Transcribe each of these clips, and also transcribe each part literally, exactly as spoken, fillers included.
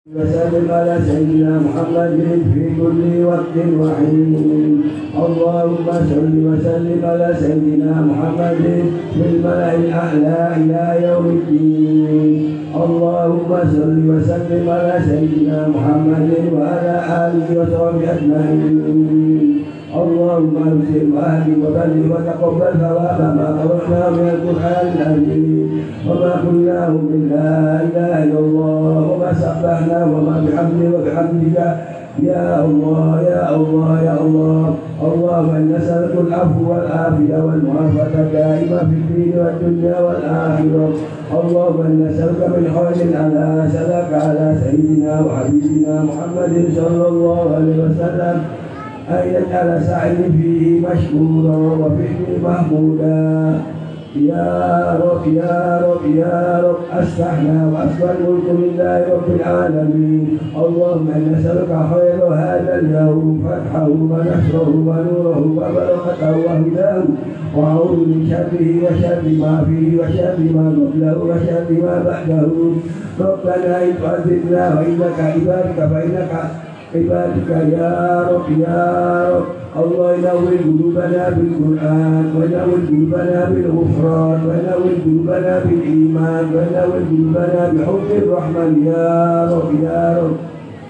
وسلم على سيدنا محمد في كل وقت وحين. اللهم صل وسلم على سيدنا محمد في الملأ الأعلى إلى يوم الدين. اللهم صل وسلم على سيدنا محمد وعلى آله وصحبه أجمعين. اللهم ارسل واهد وبلغ وتقبل ثواب ما قرأناه من القرآن العظيم وما قلناه من لا إله إلا الله وما سبحناه وما بحمده وبحمدك يا الله يا الله يا الله. اللهم إنا نسألك العفو والعافية والمعافاة الدائمة في الدين والدنيا والآخرة. اللهم إنا نسألك من خير على سلك على سيدنا وحبيبنا محمد صلى الله عليه وسلم أن يجعل سعي فيه مشكورا وفيه محمودا. يا رب يا رب يا رب أصلحنا وأصلح الملك لله رب العالمين. اللهم إنا نسألك خير هذا اليوم فتحه ونصره ونوره وبركته وهداه وأعوذ من شره وشر ما فيه وشر ما قبله وشر ما بعده. ربنا إن تعذبنا وإنك عبادك فإنك عبادك يا رب يا رب. الله ينور قلوبنا بالقرآن وينور قلوبنا بالغفران وينور قلوبنا بالإيمان وينور قلوبنا بحب الرحمن يا رب يا رب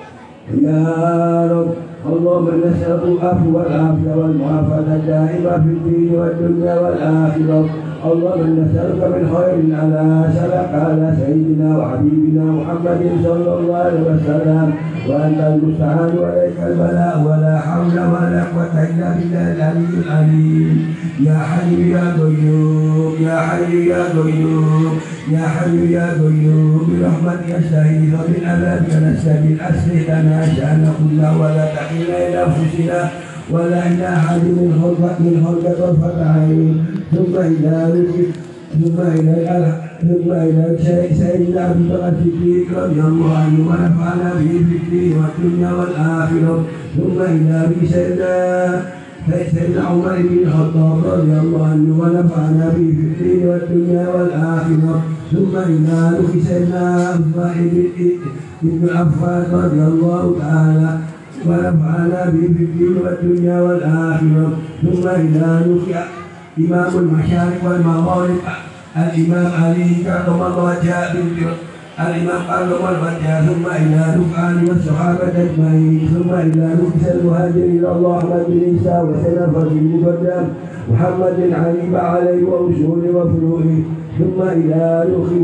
يا رب. اللهم نسألك العفو والعافية والمعافاة الدائمة في الدين والدنيا والآخرة. اللهم نسألك من خير على سلك على سيدنا وحبيبنا محمد صلى الله عليه وسلم وأنت المستعان وإليك البلاء ولا حول ولا قوة إلا بالله العلي العليم. يا حي يا قيوم يا حي يا قيوم يا حي يا قيوم برحمتك أستغيث ومن عذابك نستغيث. أصلح لنا شأن كله ولا تكلنا إلى أنفسنا ولا إلى أحد من خلقك من خلقك طرفة عين. ثم إلى ثم إلى ثم إلى سيدنا أبي بكر الصديق رضي الله عنه ونفعنا به في الدين والدنيا والآخرة. ثم إلى أبي سيدنا سيدنا عمر بن الخطاب رضي الله عنه ونفعنا به في الدين والدنيا والآخرة. ثم إلى أبي سيدنا عثمان بن عفان رضي الله تعالى ونفعنا به في الدين والدنيا والآخرة. ثم إلى إمام المشارق والمغارب الإمام علي كرم الله وجهه الإمام كرم الله وجهه. ثم إلى رفعان والصحابة أجمعين. ثم إلى نفس المهاجرين الله أحمد بن عيسى وسلف المقدم محمد علي عليه وأصول وفروعه. ثم إلى نخي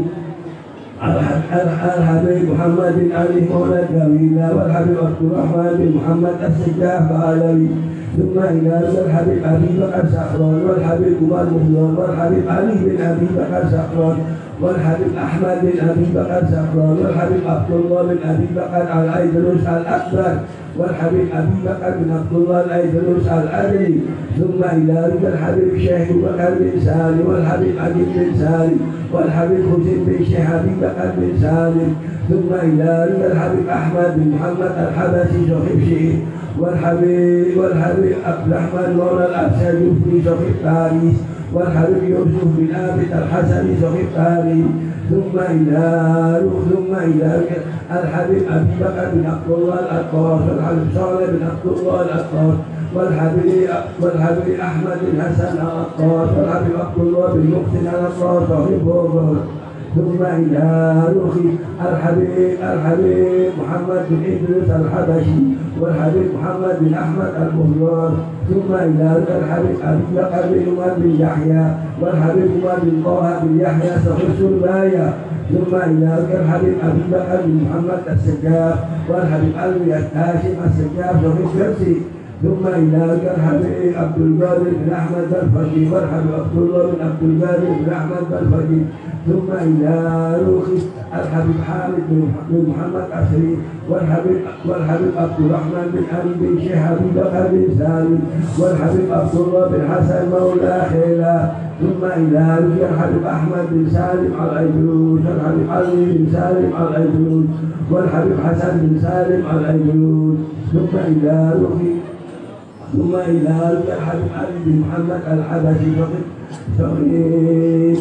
الحبيب محمد بن علي مولى الجميلة والحبيب عبد الرحمن بن محمد السجاف علوي. ثم إلى الحبيب أبي بكر سخران والحبيب عمر مخلون والحبيب علي بن أبي بكر سخران والحبيب أحمد بن أبي بكر سخران والحبيب عبد الله بن أبي بكر الأيدروس الأكبر والحبيب أبي بكر بن عبد الله الأيدروس الأدري. ثم إلى الحبيب شيخ بكر بن سالم والحبيب علي بن سالم والحبيب حسين بن شيخ أبي بكر بن سالم. ثم إلى الحبيب أحمد بن محمد الحبشي صاحب شيخ والحبيب والحبيب عبد الرحمن مولى الأبسد في صاحب باريس والحبيب يوسف بن عابد الحسني صاحب باريس. ثم إلى ثم إلى الحبيب أبي بكر بن عبد الله الأطار والحبيب صالح بن عبد الله الأطار والحبيب والحبيب أحمد بن حسن الأطار والحبيب عبد الله بن محسن الأطار صاحب بوغر. ثم إلى روحي الحبيب الحبيب محمد بن إدريس الحبشي والحبيب محمد بن أحمد المهجر. ثم إلى الحبيب أبي بكر بن عمر بن يحيى والحبيب عمر بن طه بن يحيى صاحب سربايا. ثم إلى الحبيب أبي بكر بن محمد السجاف والحبيب علي هاشم السجاف صاحب كرسي. ثم إلى الحبيب عبد القادر بن أحمد الفقي والحبيب عبد الله بن عبد القادر بن أحمد الفقي. ثم إلى روحي الحبيب حامد بن محمد عسري والحبيب والحبيب عبد الرحمن بن علي بن شيخ أبي بكر بن سالم والحبيب عبد الله بن حسن مولى خيلا. ثم إلى روحي الحبيب أحمد بن سالم الأيدروس والحبيب علي بن سالم الأيدروس والحبيب حسن بن سالم الأيدروس. ثم إلى روحي ثم إلى الحبيب علي بن محمد الحبشي فقط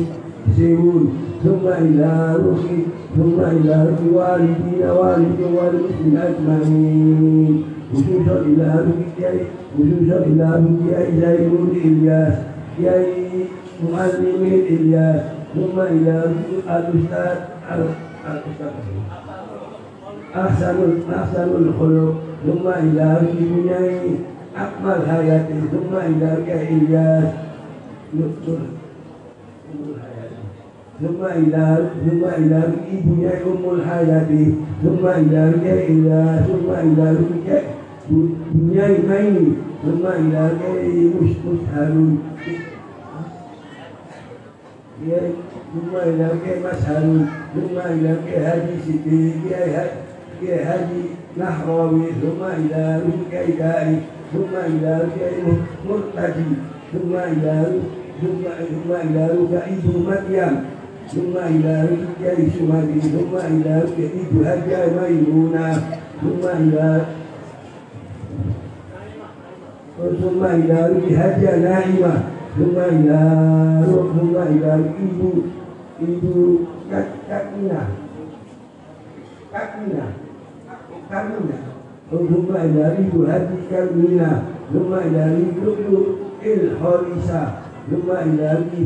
سيبون ثم إلى روح ثم إلى روح والدين والد والمسلمين أجمعين خصوصا إلى روح خصوصا إلى روح زينون إلياس يا معلم إلياس ثم إلى روح الأستاذ أحسن أحسن الخلق ثم إلى روح أكمل حياته ثم إلى روح إلياس ثم إلى ثم إلى ibunya Ummul Hayati ثم إلى إلى ثم إلى dunia ini ثم إلى مشهد ثم إلى مشهد ثم إلى هادي سيدي هادي نحراوي ثم إلى كيدائي ثم إلى مرتدي ثم إلى ثم ثم إلى ابن مريم ثم إلى رجال سمادي ثم إلى ابن هجا ميمونة ثم إلى ثم إلى هجا نائمة ثم إلى ثم إلى ibu ibu Kakina Kakina Kakina ثم إلى ibu Hadi Kamina ثم إلى ibu Il Horisa ثم إلى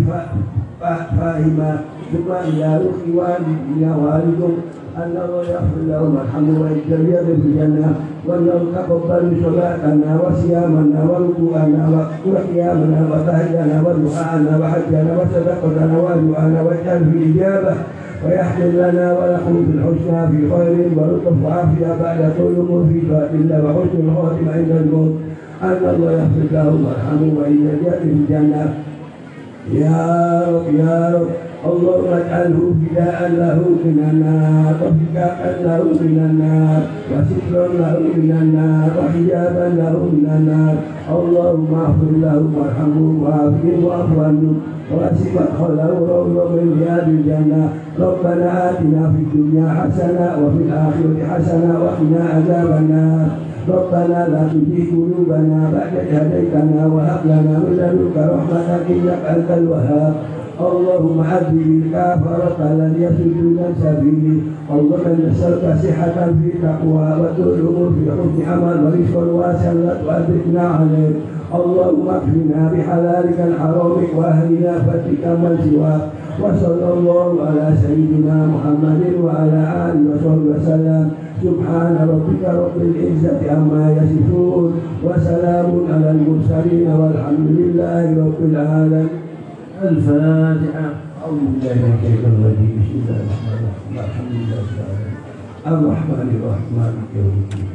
فاهمة ثم إلى والدنا والدكم أن الله يغفر لهم ويرحمهم ويجزيهم في الجنة وأن تقبل صلاتنا وصيامنا وركوعنا وقيامنا وتهجنا ودعاءنا وحجنا وصدقتنا ودعانا واجعل في الإجابة ويحمل لنا ولكم في الحسنى في خير ولطف وعافية بعد طول الأمور في طاعة الله وحسن الخاتمة عند الموت أن الله يغفر لهم ويرحمهم ويجزيهم في الجنة يا رب يا رب اللهم اجعله فداء له من النار وفكاء له من النار وسترا له من النار وحجابا له من النار اللهم اغفر له وارحمه وعافيه واعف عنه واسع مدخله روضا من رياض الجنه ربنا آتنا في الدنيا حسنه وفي الآخرة حسنه وقنا عذاب النار ربنا لا تزغ قلوبنا بعد إذ هديتنا وهب لنا من لدنك رحمة إنك أنت الوهاب اللهم عذب الكافرة الذين يصدون عن سبيلك اللهم نسألك صحة في تقوى وطول عمر في حسن عمل ورزقا واسعا لا تؤذبنا عليه اللهم اكفنا بحلالك الحرام واهلنا فتك من سواك وصلى الله على سيدنا محمد وعلى آله وصحبه وسلم سبحان ربك رب العزة عما يصفون وسلام على المرسلين والحمد لله رب العالمين. الفاتحة. أعوذ بالله من الشيطان الرجيم. بسم الله الرحمن الرحيم. الحمد لله رب العالمين. الرحمن الرحيم مالك يوم الدين.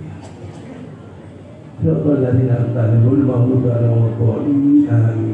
صراط الذين أنعمت عليهم غير المغضوب عليهم ولا الضالين. آمين.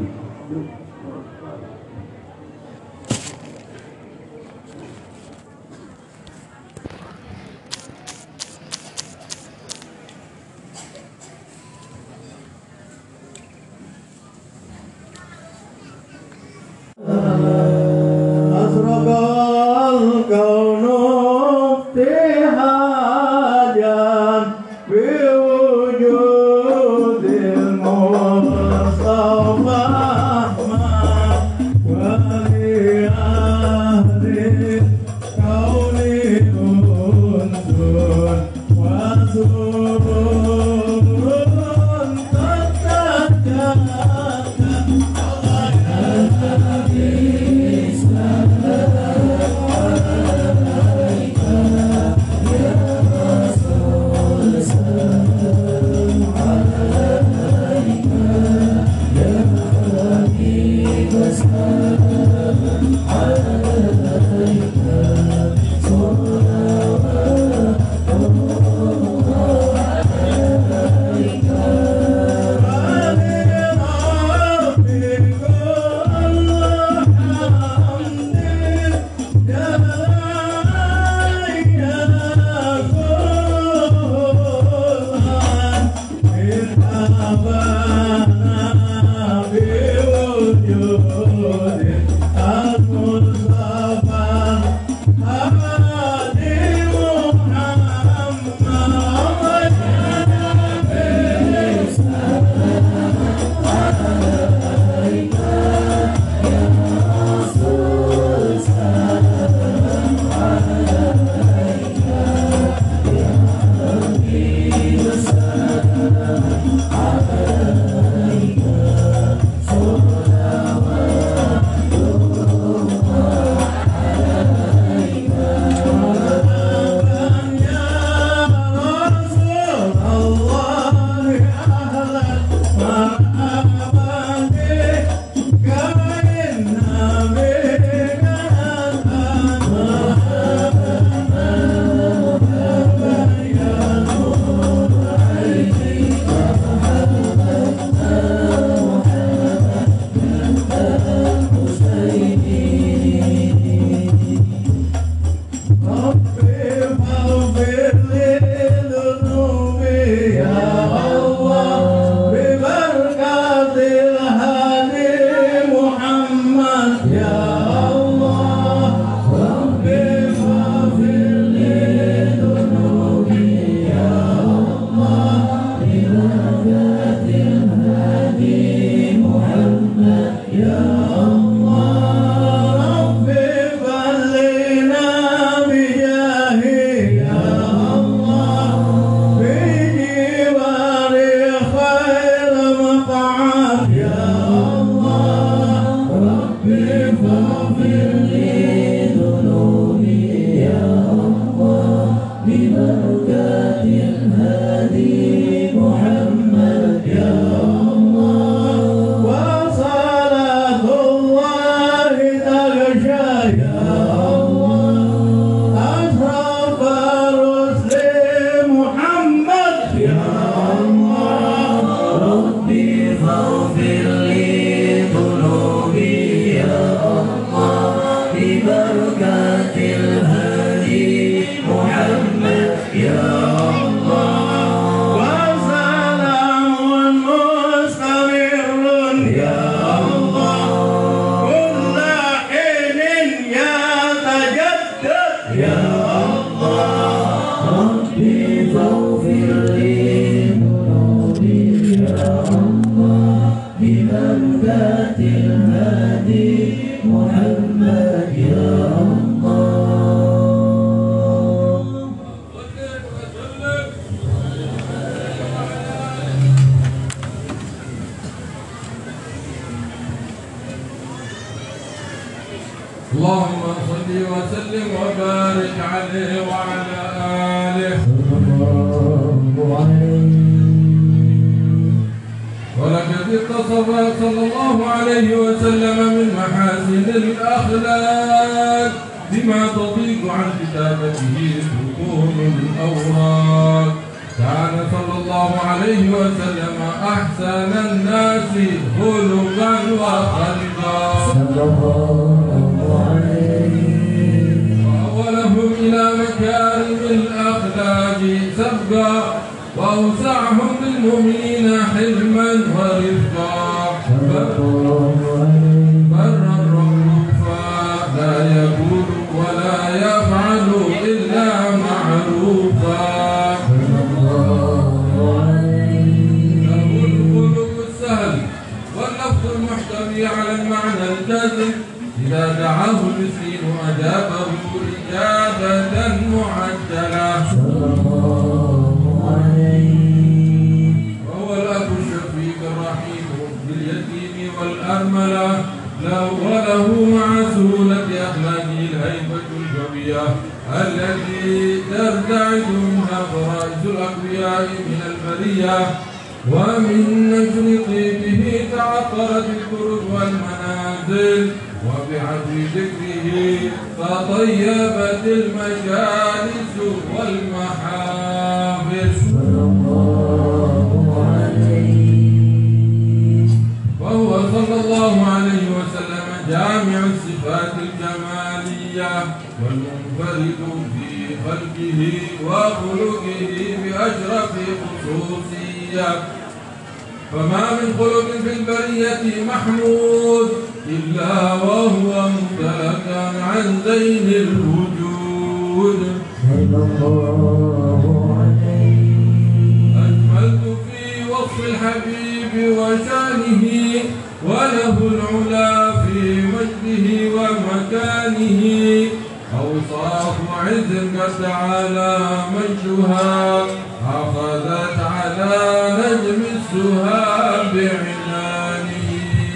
ببركات الهادي محمد يا الله وصلاة الله تغشى يا الله أشرف الرسل محمد يا الله ربي فاغفر لي ذنوبي يا الله ببركات الهادي محمد يا الله وسلام مستمر يا الله كل حين يتجدد يا الله ربي فاغفر لي ذنوبي يا الله ببركات الهادي محمد يا الله اللهم صل وسلم وبارك عليه وعلى آله ولقد اتصف صلى الله عليه وسلم من محاسن الأخلاق بما تضيق عن كتابته سطور الأوراق كان صلى الله عليه وسلم أحسن الناس خلقا وخلقا وأولهم إلى مكارم الأخلاق سبقا وأوسعهم للمؤمنين حلما ورفقا برا رؤوفا لا يقول ولا يفعل إلا معروفا له الخلق السهل واللفظ المحتوي على المعنى الجازم إذا دعاه المسكين أجابه إجابة معجلة وهو الأب الشفيق الرحيم باليتيم والأرملة وله مع سهولة أخلاقه الهيبة القوية التي ترتعد منها فرائس الأقوياء من البرية ومن نجل طيبه تعطرت الكرب والمنازل وبعدل ذكره تطيبت المجالس والمحابس وهو صلى الله عليه وسلم جامع الصفات الجمالية والمنفرد في خلقه وخلقه بأشرف خصوصية فما من خلق في البرية محمود إلا وهو ممتلكا عن زين الوجود أجملت في وصف الحبيب وشانه وله العلا في مجده ومكانه أوصاف عز قد على مجدها أخذت على نجم السها بعنانه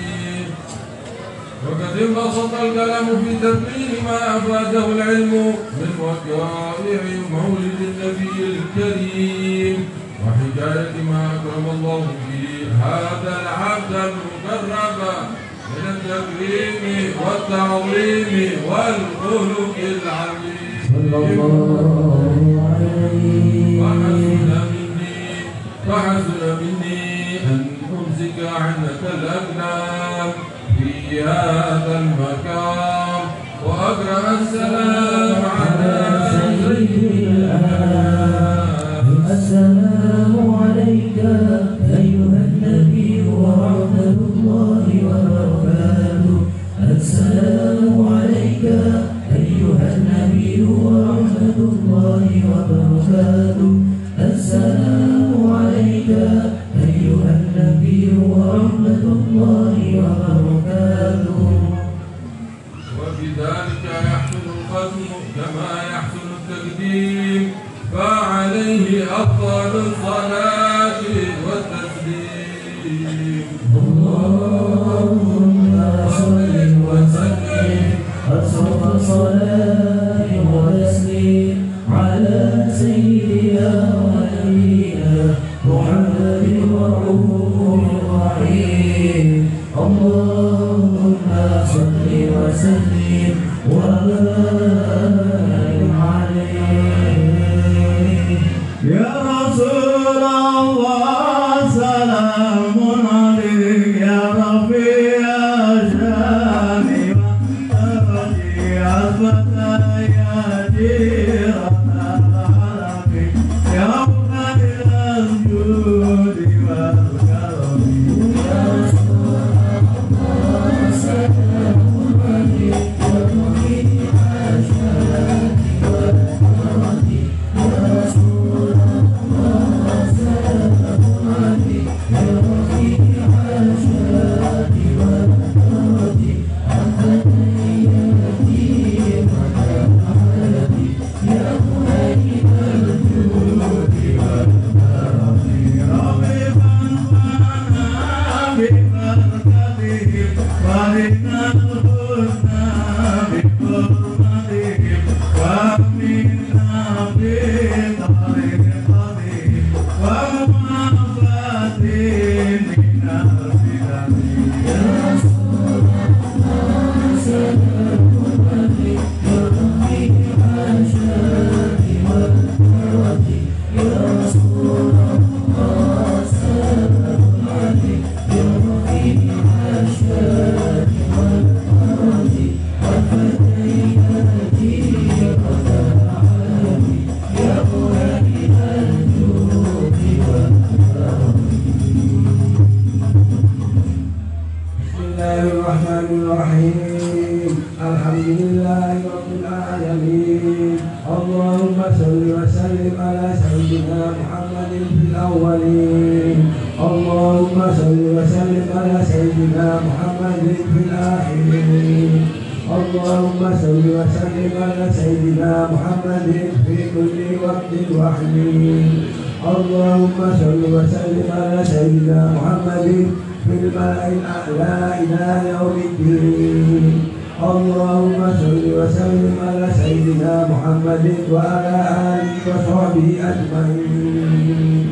وقد انبسط الكلام في تبيين ما أفاده العلم من وقائع مولد النبي الكريم وحكاية ما أكرم الله به هذا العبد المقرب من التكريم والتعظيم والخلق العظيم وحسن مني وحسن مني أن أمسك عنك الأقلام في هذا المكان وأقرأ السلام على سيد الأنام. السلام عليك أيها النبي ورحمة الله وبركاته. السلام عليك أيها النبي ورحمة الله وبركاته. السلام عليك أيها النبي ورحمة الله وبركاته. وبذلك يحسن الختم كما يحسن التقديم فعليه أفضل الصلاة والتسليم. اللهم صل وسلم أشرف صلاة وتسليم على سيدنا على ولينا محمد الرؤوف الرحيم. اللهم صل وسلم وبارك عليه. يا رسول الله سلام عليك يا رفيع الشان والترجي عزمة يا جيران العرب يا خير الجود والكرم. يا رسول الله سلام عليك يا رفيع الشان والترج. يا رسول الله سلام عليك يا رفيع الشان والترج. أنت تياتي وتعالي يا خير الجود والكرم. رغبا وانا ببركتهم ومن الحسنى بحرمتهم ومنا بطريقتهم ومعافاة من الفتن. يا رسول الله سلام عليك يا رفيع الشان والترج. يا رسول الله سلام عليك يا رفيع الشان والترج. والفتياتي وتعالي يا خير الجود والكرم. بسم الله الرحمن الرحيم. الحمد لله رب العالمين. اللهم صل وسلم على سيدنا محمد في الأولين. اللهم صل وسلم على سيدنا محمد في الآخرين. اللهم صل وسلم على سيدنا محمد في كل وقت وحين. اللهم صل وسلم على سيدنا محمد في الملأ الأعلى إلى يوم الدين. اللهم صل وسلم على سيدنا محمد وعلى آله وصحبه أجمعين.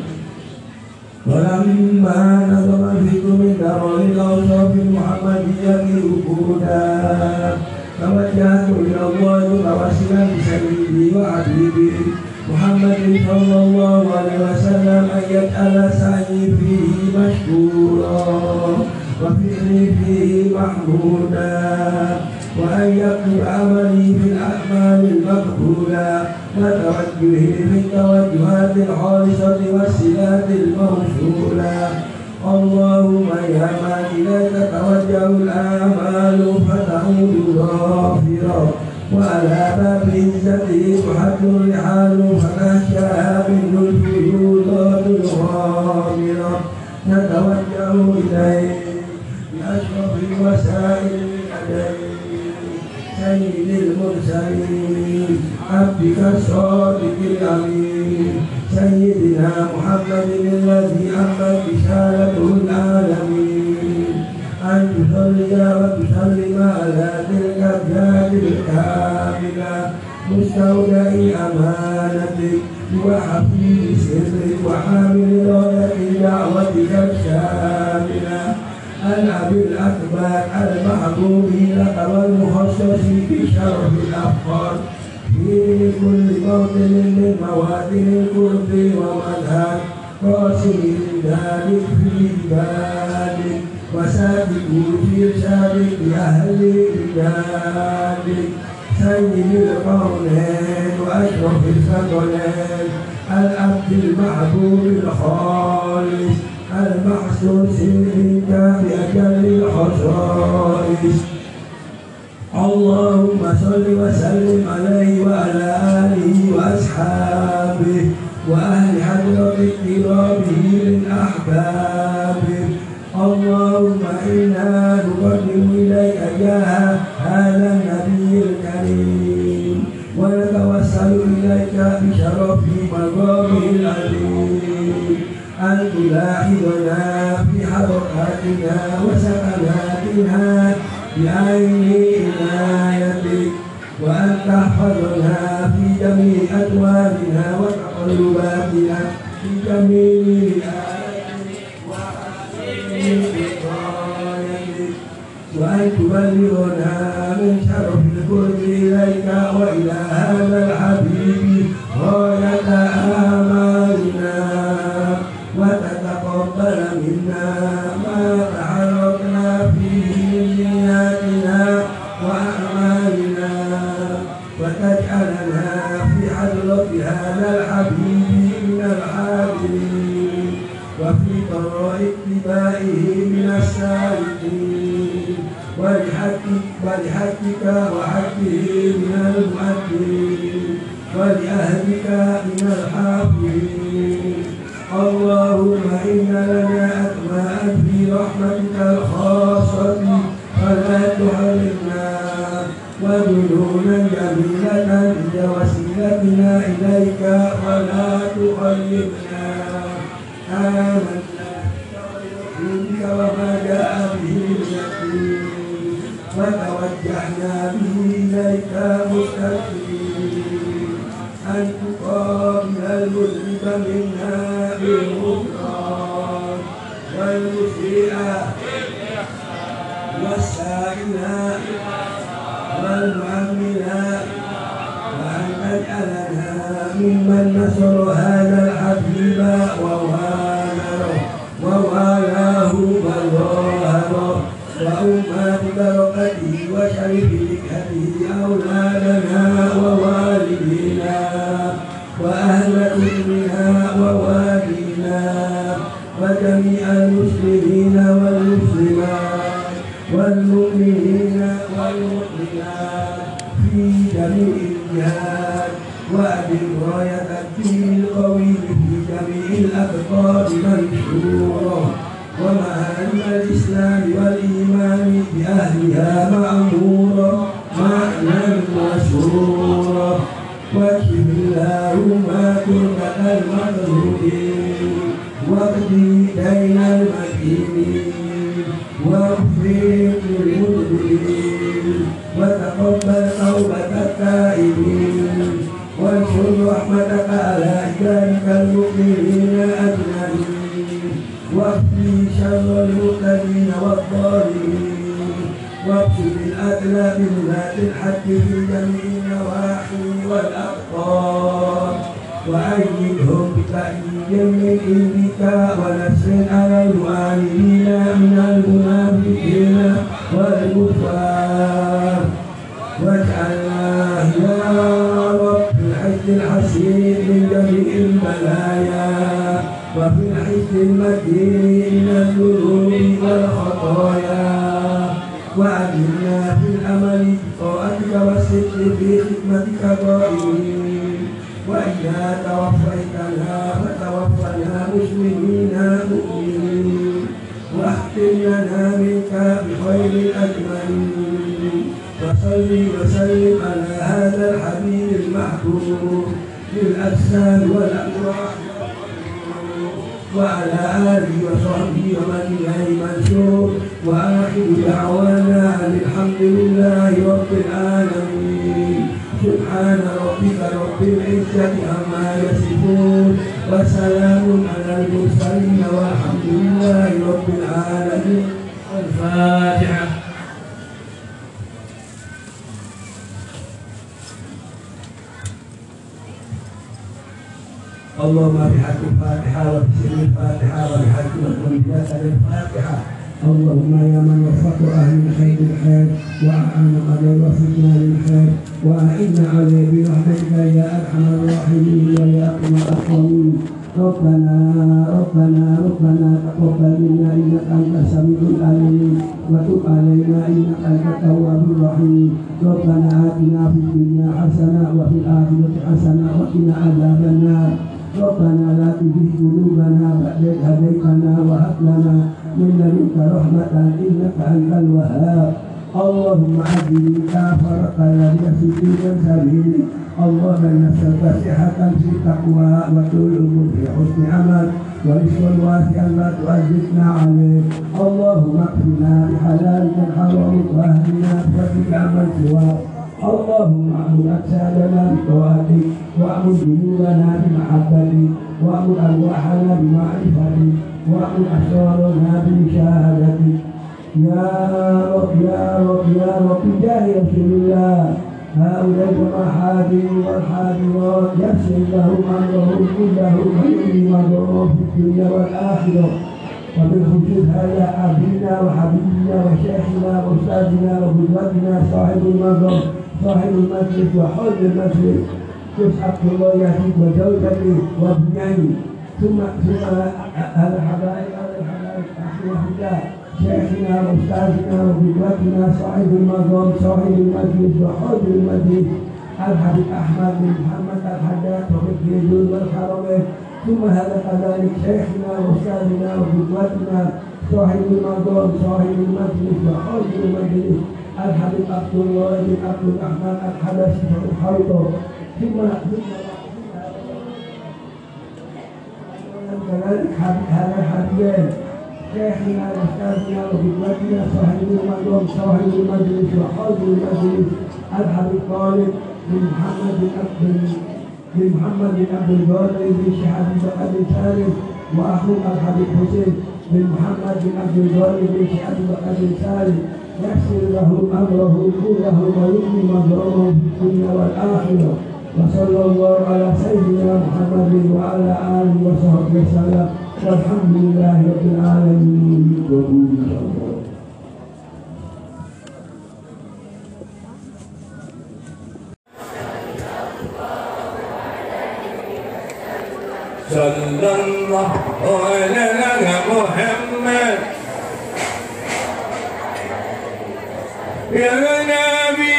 ولما نظم الفكر من درر الأوصاف المحمدية وجودا توجهت إلى الله متوسلا بسيدي وحبيبي محمد صلى الله عليه وسلم أن يجعل سعي فيه مشكورا وفعلي فيه محمودا وأن يكتب عملي في الأعمال المقبولة وتوجهي في التوجهات الخالصة والصلات الموصولة. اللهم يا من إليك توجه الأعمال فتعود غافرا وعلى باب عزته تحد الرحال فتخشاها منه الفيوضات الغامرة. نتوجه إليه بأشرف الوسائل الأدبية سيد المرسلين عبدك الصادق الأمين سيدنا محمد الذي أمت رسالته العالمين. أن تصلي وتسلم على تلك الذات الكاملة مستودع أمانتك وحفيظ سرك وحامل راية دعوتك الشاملة الأب الأكبر المحبوب لك والمخصص بشرف الأفكار في كل موطن من مواطن القرب ومذهب قاسم ذلك في جبالك وسابقوا في إرشادك لأهل رجالك سيد القولين وأشرف الثقلين العبد المحبوب الخالص المحسوس منك بأجل الخصائص. اللهم صل وسلم عليه وعلى آله وأصحابه وأهل حضرة اقترابه من أحبابه. اللهم إنا نقدم إليك جاه هذا النبي الكريم ونتوسل إليك بشرف مقامه العظيم أن تلاحظنا في حركاتنا وسكناتنا بعين عنايتك وأن تحفظنا في جميع أدوارنا وتقلباتنا وأمواتنا في جميع آياتك وأن تبلغنا من شرف القرب إليك وإلى هذا الحبيب غاية آمالنا وتتقبل منا ما تعرضنا فيه من نياتنا وأعمالنا وتجعلنا في حضرة هذا الحبيب من الحاضرين وفي طريق اتباعه من السالكين ولحقك ولحقك وحقه من المؤدين ولأهلك من الحافظين. اللهم إن لنا أسماء في رحمتك الخاصة فلا تحرمنا وذنوبا جميلة هي وسيلتنا إليك ولا تخيبنا. آمنا بك وما جاء به اليقين وتوجهنا به إليك مستقيم أن تقابل المذنب منا بالغفران والمسيء والسائل والمؤمن وأن تجعلنا ممن نصر هذا الحبيب ووالاه ووالاه وظاهره وأمات بركته وشرف ذكره أولادنا ووالدينا وأهل أمنا ووالدينا وجميع المسلمين والمسلمات والمؤمنين والمؤمنات في جميع الجهات وأدم راية الدين القوي في جميع الأقطار منشورة ومعالم الإسلام والإيمان بأهلها مأمورة معنى مشهورة واكشف اللهم كربة المظلومين واقضي دين المدينين واغفر للمذنبين وتقبل توبة التائبين وانشر رحمتك على عبادك المؤمنين أجمعين واكفي شر المبتدين والظالمين واكتب الأدلى بذات الحق في جميع النواحي والأقطار وأيدهم بتأييد من عندك ونصر على المعاندين من المنافقين والكفار واجعلنا يا رب في الحج الحسين من جميع البلايا وفي الحج المتين من الذنوب والخطايا وأجلنا في الأمل بطاعتك والصدق في خدمتك قائمين وإذا توفيتنا فتوفنا مسلمين مؤمنين واختم لنا منك بخير الأجمعين وصل وسلم على هذا الحبيب المحبوب للأجساد والأرواح وعلى آله وصحبه ومن إليه منشور وآخر دعوانا أن الحمد لله رب العالمين. سبحان ربك رب العزة عما يصفون وسلام على المرسلين والحمد لله رب العالمين. الفاتحة. اللهم بحق الفاتحة وبسر الفاتحة وبحق الأنبياء الفاتحة. اللهم يا من وفق أهل الخير الخير وأعان قد وفقنا للخير وأعنا عليه برحمتك يا أرحم الراحمين ويا أكرم الأكرمين. ربنا ربنا ربنا تقبل منا إنك أنت السميع العليم وتب علينا إنك أنت التواب الرحيم. ربنا آتنا في الدنيا حسنة وفي الآخرة حسنة وقنا عذاب النار. ربنا لا تزغ قلوبنا بعد إذ هديتنا وهب لنا من لدنك رحمة إنك أنت الوهاب. اللهم عجل كافرك الذي في دين سبيلك. اللهم نسألك صحة في التقوى وطول العمر في حسن عمل ورزقا واسعا لا تؤذبنا عليه. اللهم اكفنا بحلالك الحرام واهدنا بفضلك عمن سواك. اللهم اعمل اجسادنا بطاعتك واعمل جنوبنا بمحبتك وأمر أرواحنا بمعرفتك وأمر أسرارنا بمشاهدتك يا رب يا رب يا رب بجاه رسول الله هؤلاء المحاذير والحاضرات يسر لهم أمرهم كلهم ويؤمن مرهم في الدنيا والآخرة وبالخصوص هذا أبينا وحبيبنا وشيخنا وأستاذنا وقدوتنا صاحب المنظر صاحب المجلس وحوض المجلس يسعد الله يهديك وزوجته وابنيه ثم ثم هذا الحبائب هذا الحبائب أخوة شيخنا وأستاذنا وقدوتنا صاحب المنظر صاحب المجلس وحوض المجلس الحبيب أحمد بن محمد الحداد وفقه الجود والحرمين ثم هذا كذلك شيخنا وأستاذنا وقدوتنا صاحب المنظر صاحب المجلس وحوض المجلس الحبيب عبد الله بن عبد الرحمن الحبشي الحوض ثم كذلك هذا الحبيبين شيخنا وأستاذنا وقدوتنا صاحب المنظر صاحب المجلس وحوض المجلس الحبيب طالب بن محمد بن عبد بن محمد بن عبد القادر بن شهاب بن أبي سالم وأخوه الحبيب حسين بن محمد بن عبد القادر بن شهاب بن أبي سالم يسر لهم أمره كله ويؤمن مظلومهم في الدنيا والآخرة وصلى الله على سيدنا محمد وعلى آله وصحبه وسلم والحمد لله رب العالمين. Sallallahu ala Muhammad Ya Nabi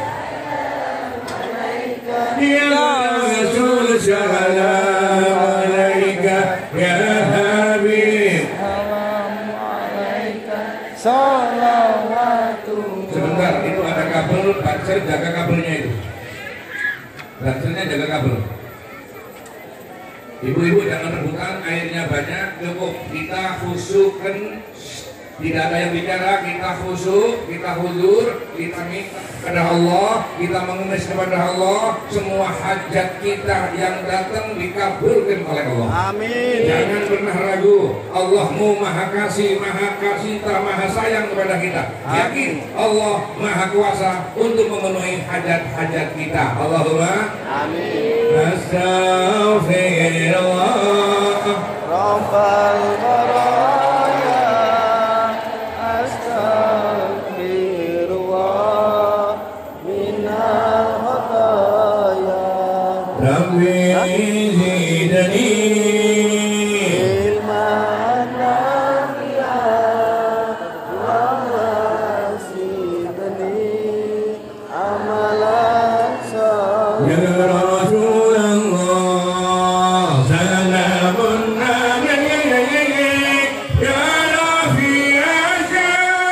Ya Rasul salam alaika Ya Habib Salawatu. Sebentar, itu ada kabel, Banser jaga kabelnya itu Bansernya jaga kabel. Ibu-ibu jangan rebutan, airnya banyak, cukup kita khusyukkan, tidak ada yang bicara, kita khusyuk, kita huzur, kita minta kepada Allah, kita mengemis kepada Allah, semua hajat kita yang datang dikabulkan oleh Allah. Amin. Jangan pernah ragu, Allahmu maha kasih, maha kasih, maha sayang kepada kita. Yakin Allah maha kuasa untuk memenuhi hajat-hajat kita. Allahumma Amin. Astaghfirullah Rabbal baraya Astaghfirullah minal khataya Rabbi zidni ilman nafi'an wa zidni amalan salih. Ya Rasulullah salamun alaik ya Rafi Asya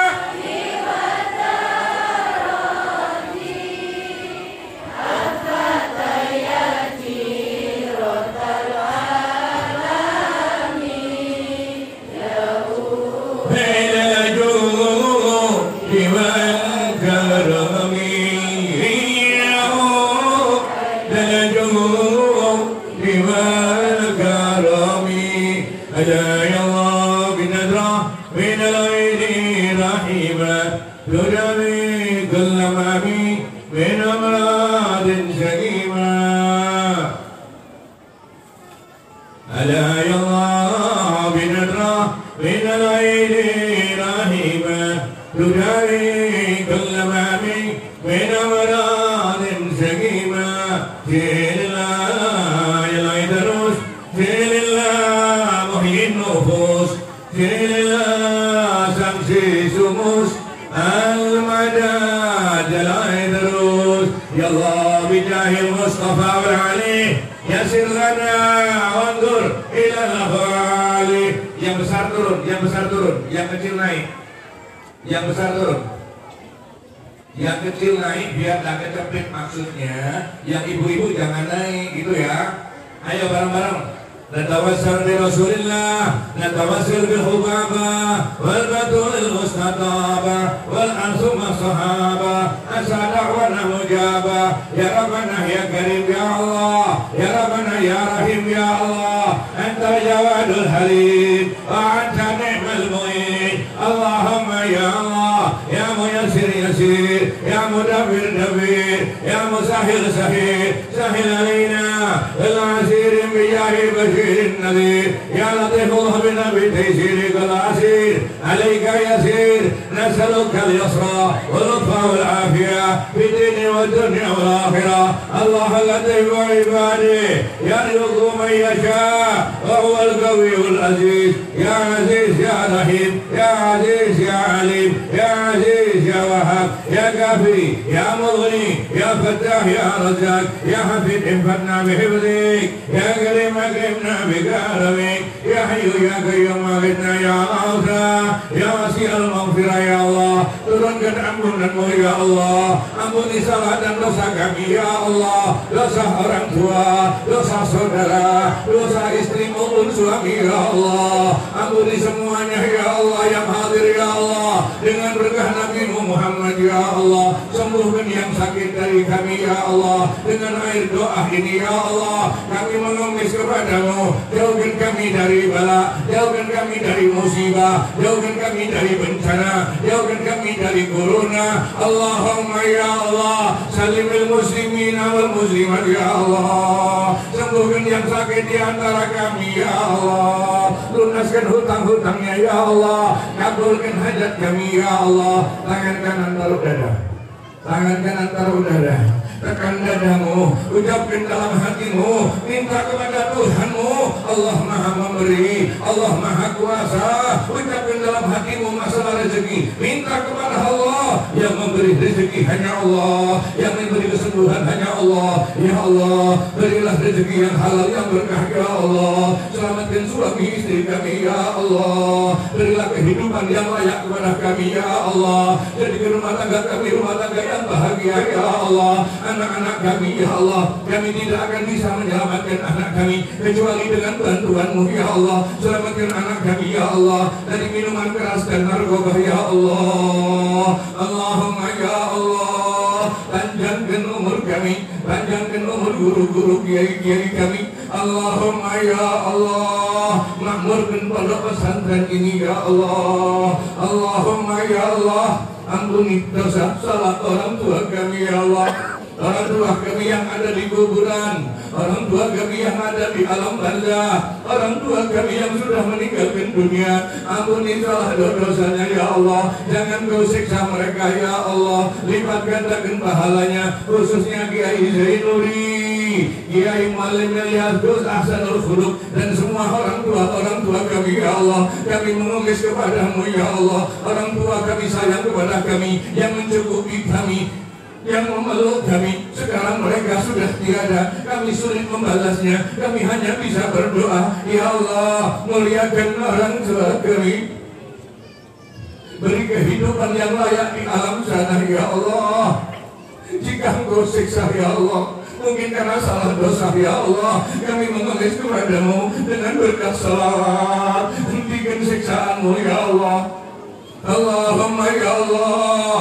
yang kecil naik, yang besar turun, yang kecil naik biar tak kecepit maksudnya, yang ibu-ibu jangan naik gitu ya. Ayo bareng-bareng, نتوسل برسولillah نتوسل بالحبابة والبدول المستطابة والأنصم الصحابة أسى دعوانا مجابة يا ربنا يا كريم يا الله يا ربنا يا رحيم يا الله أنت الجواد الحليم وأنت نعم المعين اللهم يا الله يا ميسر يسير يا مدبر دبير يا مسهل سهيل سهل علينا العسير بجاه بشير النذير يا لطيف بنا بتيسيرك العسير عليك يسير نسألك اليسرى واللطف والعافية في الدين والدنيا والآخرة الله لطيف عباده يرزق من يشاء وهو القوي العزيز يا عزيز يا رحيم يا عزيز يا عليم يا عزيز يا وهاب يا كافي يا مغني يا فتاح يا رزاق يا حفيظ انفعنا بحفظك يا كريم اكرمنا بكرمك يا حي يا قيوم اغثنا يا غوثا يا وسيع المغفرة يا الله turunkan ampunanmu ya Allah ampuni salah dan dosa kami ya Allah dosa orang tua dosa saudara dosa istri maupun suami ya Allah ampuni semuanya ya Allah yang hadir ya Allah dengan berkah Nabi Muhammad ya Allah sembuhkan yang sakit dari kami ya Allah dengan air doa ini ya Allah kami mengemis kepadamu jauhkan kami dari bala jauhkan kami dari musibah jauhkan kami dari bencana jauhkan kami dari corona Allahumma ya Allah salimil muslimin wal muslimat ya Allah sembuhkan yang sakit di antara kami ya Allah lunaskan hutang-hutangnya ya Allah kabulkan hajat kami ya Allah tangan kanan taruh dada tangan kanan taruh dada tekan dadamu, ucapkan dalam hatimu, minta kepada Tuhanmu. Allah Maha Memberi, Allah Maha Kuasa. Ucapkan dalam hatimu masalah rezeki, minta kepada Allah. Yang memberi rezeki hanya Allah, yang memberi kesembuhan hanya Allah. Ya Allah, berilah rezeki yang halal yang berkah ya Allah. Selamatkan suami istri kami ya Allah. Berilah kehidupan yang layak kepada kami ya Allah. Jadikan rumah tangga kami rumah tangga yang bahagia ya Allah. Anak-anak kami ya Allah, kami tidak akan bisa menyelamatkan anak kami kecuali dengan bantuan-Mu ya Allah. Selamatkan anak kami ya Allah dari minuman keras dan narkoba ya Allah. Allahumma ya Allah, panjangkan umur kami, panjangkan umur guru-guru kiai-kiai kami. Allahumma ya Allah, makmurkan pondok pesantren ini ya Allah. Allahumma ya Allah, ampuni dosa salah orang tua kami ya Allah. Orang tua kami yang ada di kuburan, orang tua kami yang ada di alam barzah, orang tua kami yang sudah meninggalkan dunia. Ampuni salah dosanya ya Allah. Jangan Kau siksa mereka ya Allah. Lipat gandakan pahalanya, khususnya Kiai Zainuri, Kiai Malim Ilyas Gus Ahsanul Khuluq dan semua orang tua orang tua kami ya Allah. Kami mengemis kepadamu ya Allah. Orang tua kami sayang kepada kami, yang mencukupi kami, yang memeluk kami. Sekarang mereka sudah tiada, kami sulit membalasnya. Kami hanya bisa berdoa, ya Allah, muliakan orang tua kami, beri kehidupan yang layak di alam sana ya Allah. Jika Engkau siksa ya Allah, mungkin karena salah dosa ya Allah, kami mengemis kepadamu dengan berkat salawat. Hentikan siksaanmu ya Allah. Allahumma ya Allah,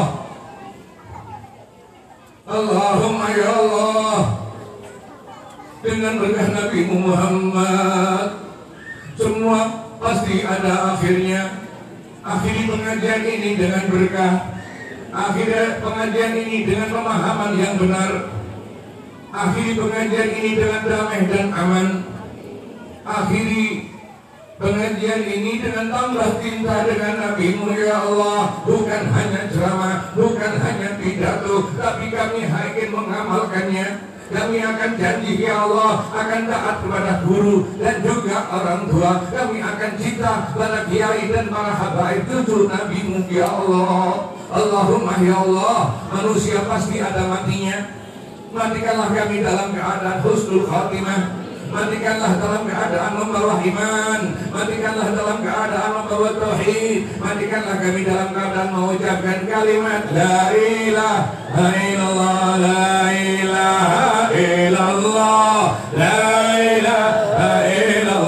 Allahumma ya Allah, dengan berkah Nabi Muhammad, semua pasti ada akhirnya. Akhiri pengajian ini dengan berkah, akhiri pengajian ini dengan pemahaman yang benar, akhiri pengajian ini dengan damai dan aman, akhiri pengajian ini dengan tambah cinta dengan Nabi-Mu ya Allah. Bukan hanya ceramah, bukan hanya pidato, tapi kami ingin mengamalkannya. Kami akan janji ya Allah akan taat kepada guru dan juga orang tua. Kami akan cinta pada kiai dan para habaib cucu Nabi-Mu ya Allah. Allahumma ya Allah, manusia pasti ada matinya. Matikanlah kami dalam keadaan husnul khatimah. Matikanlah dalam keadaan membawa iman, matikanlah dalam keadaan membawa tauhid, matikanlah kami dalam keadaan mengucapkan kalimat la ilaha illallah, la ilaha illallah, la ilaha illallah.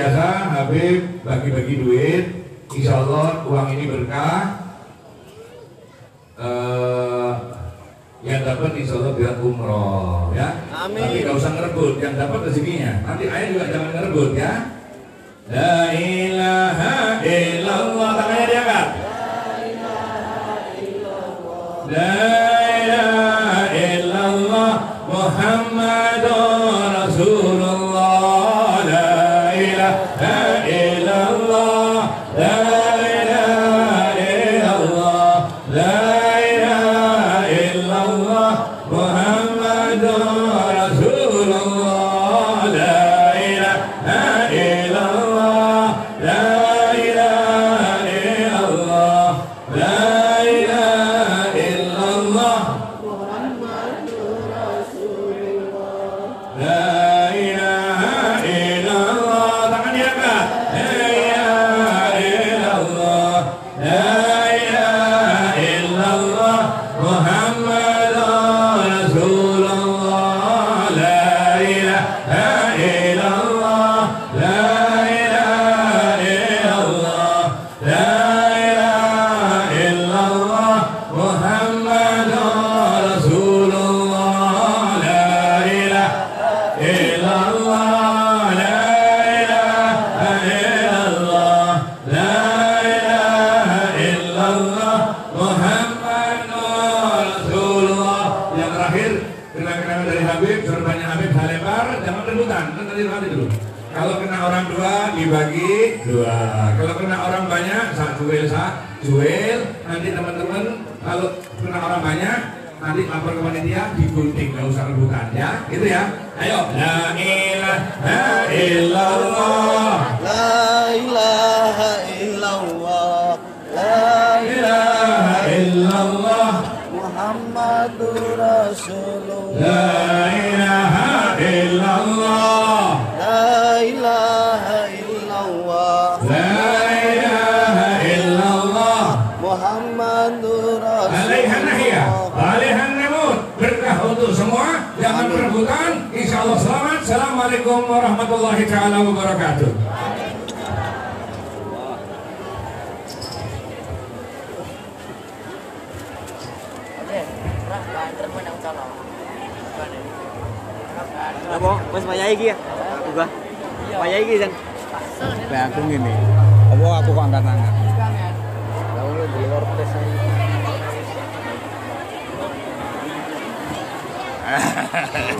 biasa Habib bagi-bagi duit, insya Allah uang ini berkah. Uh, yang dapat insya Allah biar umroh ya. Amin. Tapi gak usah ngerebut, yang dapat rezekinya. Nanti ayah juga jangan ngerebut ya. La ilaha illallah, tangannya diangkat. La ilaha illallah Muhammadur Rasulullah. La ilaha illallah. La ilaha illallah. La ilaha illallah Muhammadur Rasulullah. La ilaha illallah. La ilaha illallah. La ilaha illallah Muhammadur Rasulullah. La ilaha illallah, tangan diangkat. La ilaha illallah. La ilaha illallah Muhammadur Rasulullah. La ilaha illallah. La ilaha illallah. La ilaha illallah Muhammadur Rasulullah. La ilaha illallah. La ilaha illallah. La ilaha illallah Muhammadur Rasulullah. Yang terakhir, kenang-kenangan dari Habib, sorbannya Habib hal lebar, jangan rebutan, kan tadi nanti dulu. Kalau kena orang dua dibagi dua, kalau kena orang banyak satu jual satu jual. Nanti teman-teman kalau kena orang banyak nanti lapor ke panitia digunting, nggak usah rebutan ya, gitu ya. Ayo, la ilaha illallah. La ilaha illallah. La ilaha illallah Muhammadur Rasulullah. La ilaha illallah. La ilaha illallah. La ilaha illallah Muhammadur alaihan nahya alaihan namut. Berkah untuk semua, jangan berebutan. Insya Allah selamat. Assalamualaikum warahmatullahi taala wabarakatuh. Apa? Mas mayai iki ya? Aku gak. Mayai iki jan. Lah aku ngene. Apa aku kok angkat tangan? Lalu di luar tes aja.